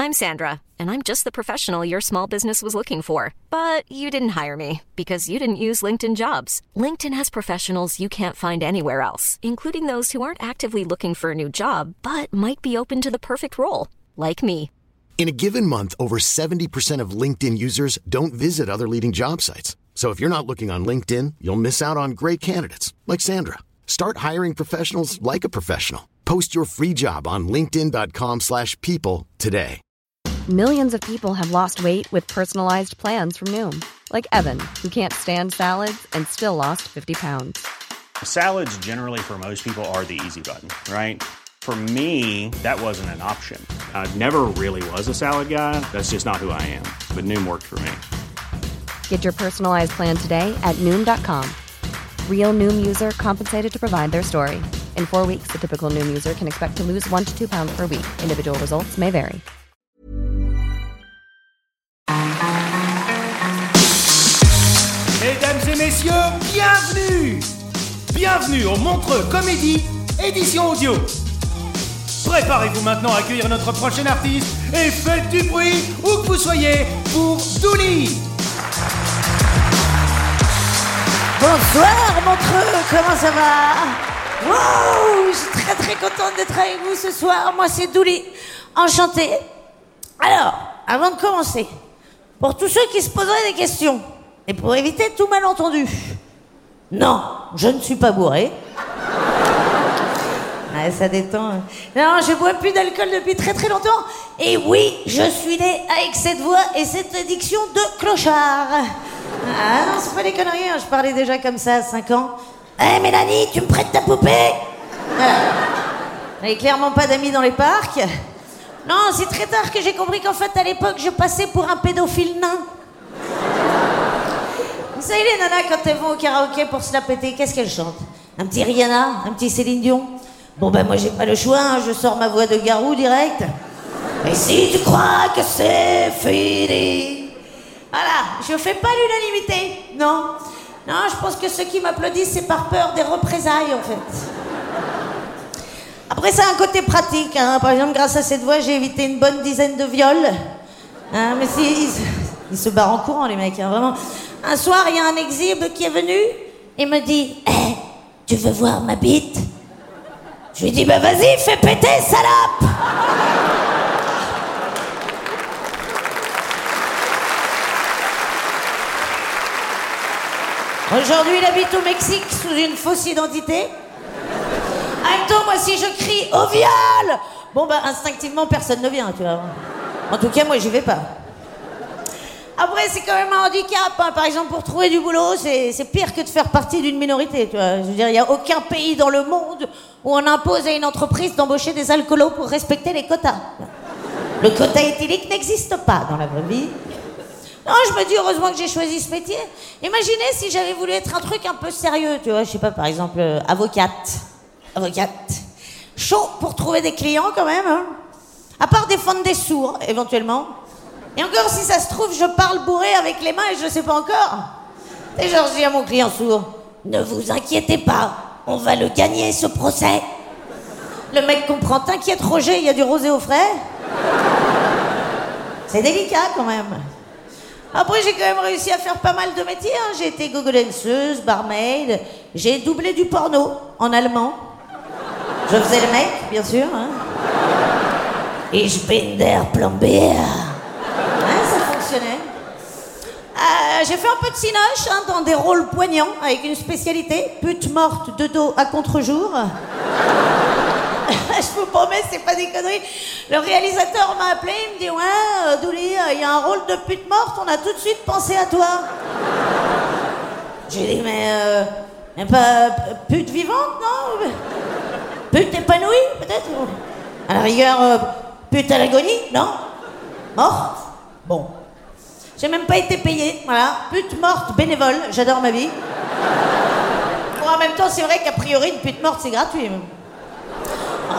I'm Sandra, and I'm just the professional your small business was looking for. But you didn't hire me because you didn't use LinkedIn Jobs. LinkedIn has professionals you can't find anywhere else, including those who aren't actively looking for a new job, but might be open to the perfect role, like me. In a given month, over 70% of LinkedIn users don't visit other leading job sites. So if you're not looking on LinkedIn, you'll miss out on great candidates like Sandra. Start hiring professionals like a professional. Post your free job on linkedin.com/people today. Millions of people have lost weight with personalized plans from Noom. Like Evan, who can't stand salads and still lost 50 pounds. Salads generally for most people are the easy button, right? For me, that wasn't an option. I never really was a salad guy. That's just not who I am. But Noom worked for me. Get your personalized plan today at Noom.com. Real Noom user compensated to provide their story. In 4 weeks, the typical Noom user can expect to lose 1 to 2 pounds per week. Individual results may vary. Mesdames et messieurs, bienvenue! Bienvenue au Montreux Comédie, édition audio. Préparez-vous maintenant à accueillir notre prochain artiste et faites du bruit où que vous soyez pour Douli. Bonsoir Montreux, comment ça va? Wow, je suis très très contente d'être avec vous ce soir. Moi c'est Douli, enchantée. Alors, avant de commencer, pour tous ceux qui se poseraient des questions, et pour éviter tout malentendu, non, je ne suis pas bourré. Ouais, ça détend. Non, je bois plus d'alcool depuis très très longtemps. Et oui, je suis né avec cette voix et cette addiction de clochard. Ah non, c'est pas des conneries, hein. Je parlais déjà comme ça à 5 ans. Hé Mélanie, tu me prêtes ta poupée? Voilà. J'avais clairement pas d'amis dans les parcs. Non, c'est très tard que j'ai compris qu'en fait, à l'époque, je passais pour un pédophile nain. Vous savez, les nanas, quand elles vont au karaoké pour se la péter, qu'est-ce qu'elles chantent? Un petit Rihanna, un petit Céline Dion. Bon ben moi j'ai pas le choix, hein, je sors ma voix de garou direct. Et si tu crois que c'est fini. Voilà, je fais pas l'unanimité, non. Non, je pense que ceux qui m'applaudissent, c'est par peur des représailles en fait. Après ça a un côté pratique, hein. Par exemple grâce à cette voix j'ai évité une bonne dizaine de viols. Hein, mais si, ils se barrent en courant les mecs, hein, vraiment. Un soir il y a un exhibe qui est venu et me dit hey, tu veux voir ma bite? Je lui dis, bah vas-y, fais péter, salope! Aujourd'hui, il habite au Mexique sous une fausse identité. En même temps, moi, si je crie au viol, bon, bah, instinctivement, personne ne vient, tu vois. En tout cas, moi, j'y vais pas. Après, c'est quand même un handicap, hein. Par exemple, pour trouver du boulot, c'est pire que de faire partie d'une minorité, tu vois. Je veux dire, il n'y a aucun pays dans le monde où on impose à une entreprise d'embaucher des alcoolos pour respecter les quotas. Le quota éthylique n'existe pas dans la vraie vie. Non, je me dis, heureusement que j'ai choisi ce métier. Imaginez si j'avais voulu être un truc un peu sérieux, tu vois. Je sais pas, par exemple, avocate. Chaud pour trouver des clients, quand même, hein. À part défendre des sourds, éventuellement. Et encore, si ça se trouve, je parle bourré avec les mains et je sais pas encore. Et genre, je dis à mon client sourd, ne vous inquiétez pas, on va le gagner, ce procès. Le mec comprend, t'inquiète Roger, il y a du rosé au frais. C'est délicat quand même. Après, j'ai quand même réussi à faire pas mal de métiers, hein. J'ai été gogolenseuse, barmaid, j'ai doublé du porno en allemand. Je faisais le mec, bien sûr, hein. Ich bin der Plombier. Ça fonctionnait. J'ai fait un peu de cinoche, hein, dans des rôles poignants, avec une spécialité, pute morte de dos à contre-jour. Je vous promets, c'est pas des conneries. Le réalisateur m'a appelé, il me dit ouais, Douli, il y a un rôle de pute morte, on a tout de suite pensé à toi. J'ai dit mais pas pute vivante, non? Pute épanouie, peut-être? À la rigueur, pute à l'agonie, non? Morte? Bon. J'ai même pas été payée, voilà. Pute morte bénévole, j'adore ma vie. Bon, en même temps, c'est vrai qu'a priori, une pute morte, c'est gratuit. Oh.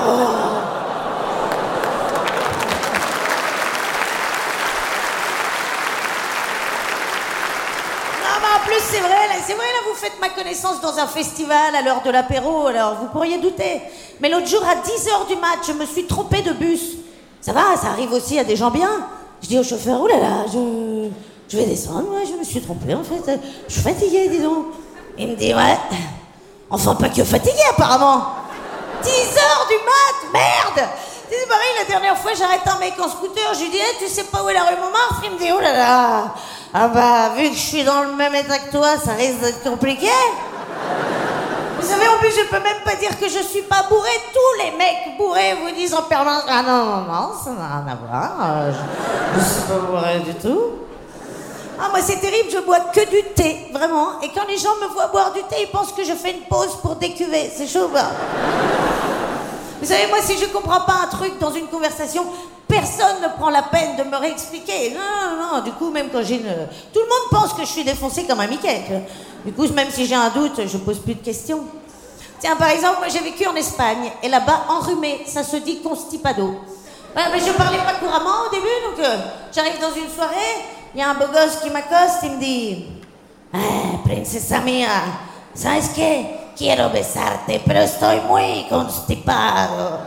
En plus, c'est vrai, là, vous faites ma connaissance dans un festival à l'heure de l'apéro, alors vous pourriez douter. Mais l'autre jour, à 10h du mat, je me suis trompée de bus. Ça va, ça arrive aussi à des gens bien. Je dis au chauffeur, oh là là, je vais descendre, ouais, je me suis trompée en fait. Je suis fatiguée, dis donc. Il me dit, ouais. Enfin, pas que fatiguée apparemment. 10 heures du mat, merde. C'est pareil, la dernière fois, j'arrête un mec en scooter, je lui dis, hey, tu sais pas où est la rue Montmartre? Il me dit, oh là là. Ah bah, vu que je suis dans le même état que toi, ça risque d'être compliqué. Vous savez, en plus, je peux même pas dire que je suis pas bourré. Tous les mecs bourrés vous disent en permanence, ah non, ça n'a rien à voir. Je suis pas bourré du tout. Ah, moi, c'est terrible, je bois que du thé, vraiment. Et quand les gens me voient boire du thé, ils pensent que je fais une pause pour décuver. C'est chaud, bah. Vous savez, moi, si je comprends pas un truc dans une conversation, personne ne prend la peine de me réexpliquer. Non. Du coup, même quand j'ai une... Tout le monde pense que je suis défoncée comme un Mickey. Du coup, même si j'ai un doute, je pose plus de questions. Tiens, par exemple, moi, j'ai vécu en Espagne. Et là-bas, enrhumé, ça se dit constipado. Ouais, mais je parlais pas couramment au début, donc j'arrive dans une soirée, il y a un beau gosse qui m'accoste, il me dit princesa mía, ¿sabes qué? Quiero besarte, pero estoy muy constipado.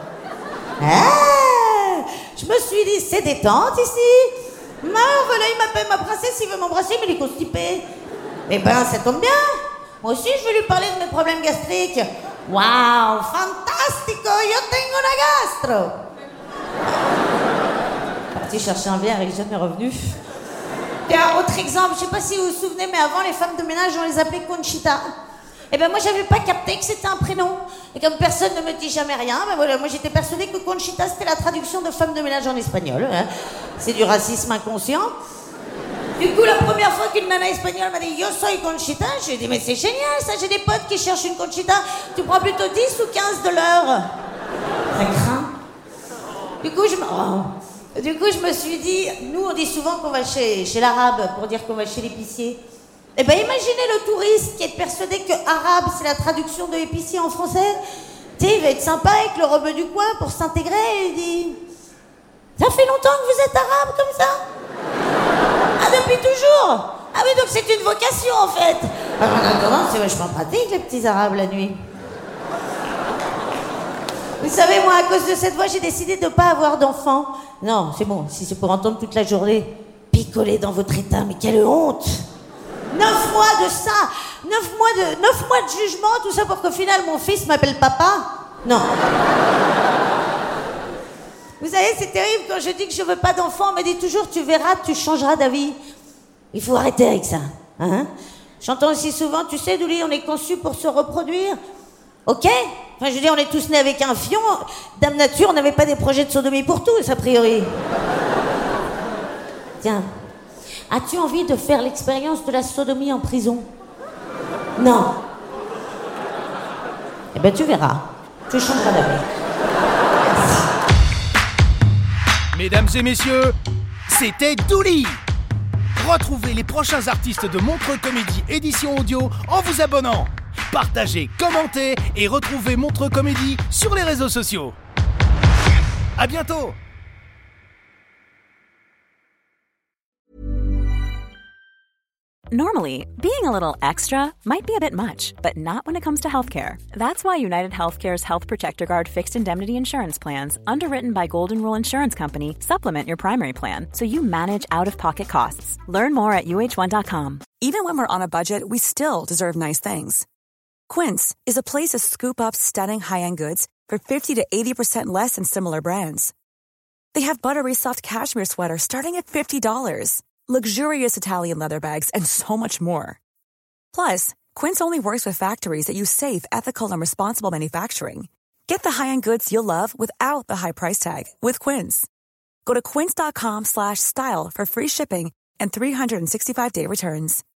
Je me suis dit, c'est détente ici. Voilà, il m'appelle ma princesse, il veut m'embrasser, mais il est constipé. Eh ben, ça tombe bien. Moi aussi, je vais lui parler de mes problèmes gastriques. Waouh, fantastico, yo tengo una gastro. Parti chercher un verre, il est jamais revenu. Et un autre exemple, je sais pas si vous vous souvenez, mais avant, les femmes de ménage, on les appelait Conchita. Eh ben moi, j'avais pas capté que c'était un prénom. Et comme personne ne me dit jamais rien, ben voilà, moi j'étais persuadée que Conchita, c'était la traduction de femme de ménage en espagnol. Hein. C'est du racisme inconscient. Du coup, la première fois qu'une nana espagnole m'a dit « Yo soy Conchita », j'ai dit « Mais c'est génial, ça, j'ai des potes qui cherchent une Conchita. Tu prends plutôt 10 ou 15 de l'heure ?» Ça craint. Du coup, je me suis dit, nous, on dit souvent qu'on va chez l'arabe pour dire qu'on va chez l'épicier. Eh ben, imaginez le touriste qui est persuadé que arabe, c'est la traduction de épicier en français. Tu sais, il va être sympa avec le rebeu du coin pour s'intégrer et il dit « Ça fait longtemps que vous êtes arabe comme ça ?» Ah, depuis toujours? Ah oui, donc c'est une vocation en fait. Non, c'est vachement pratique les petits arabes la nuit. Vous savez, moi, à cause de cette voix, j'ai décidé de ne pas avoir d'enfant. Non, c'est bon, si c'est pour entendre toute la journée picoler dans votre état, mais quelle honte! 9 mois de ça, 9 mois de jugement, tout ça pour qu'au final mon fils m'appelle papa? Non. Vous savez, c'est terrible quand je dis que je veux pas d'enfant, on me dit toujours tu verras, tu changeras d'avis. Il faut arrêter avec ça, hein? J'entends aussi souvent, tu sais, Douli, on est conçu pour se reproduire. Ok? Enfin, je veux dire, on est tous nés avec un fion. Dame Nature, on n'avait pas des projets de sodomie pour tous, a priori. Tiens, as-tu envie de faire l'expérience de la sodomie en prison? Non. Eh ben, tu verras. Tu changeras d'avis. Mesdames et messieurs, c'était Douli. Retrouvez les prochains artistes de Montreux Comédie édition audio en vous abonnant. Partagez, commentez et retrouvez Montreux Comédie sur les réseaux sociaux. À bientôt. Normally, being a little extra might be a bit much, but not when it comes to healthcare. That's why United Healthcare's Health Protector Guard fixed indemnity insurance plans, underwritten by Golden Rule Insurance Company, supplement your primary plan so you manage out-of-pocket costs. Learn more at uh1.com. Even when we're on a budget, we still deserve nice things. Quince is a place to scoop up stunning high-end goods for 50 to 80% less than similar brands. They have buttery soft cashmere sweaters starting at $50, luxurious Italian leather bags, and so much more. Plus, Quince only works with factories that use safe, ethical, and responsible manufacturing. Get the high-end goods you'll love without the high price tag with Quince. Go to quince.com/style for free shipping and 365-day returns.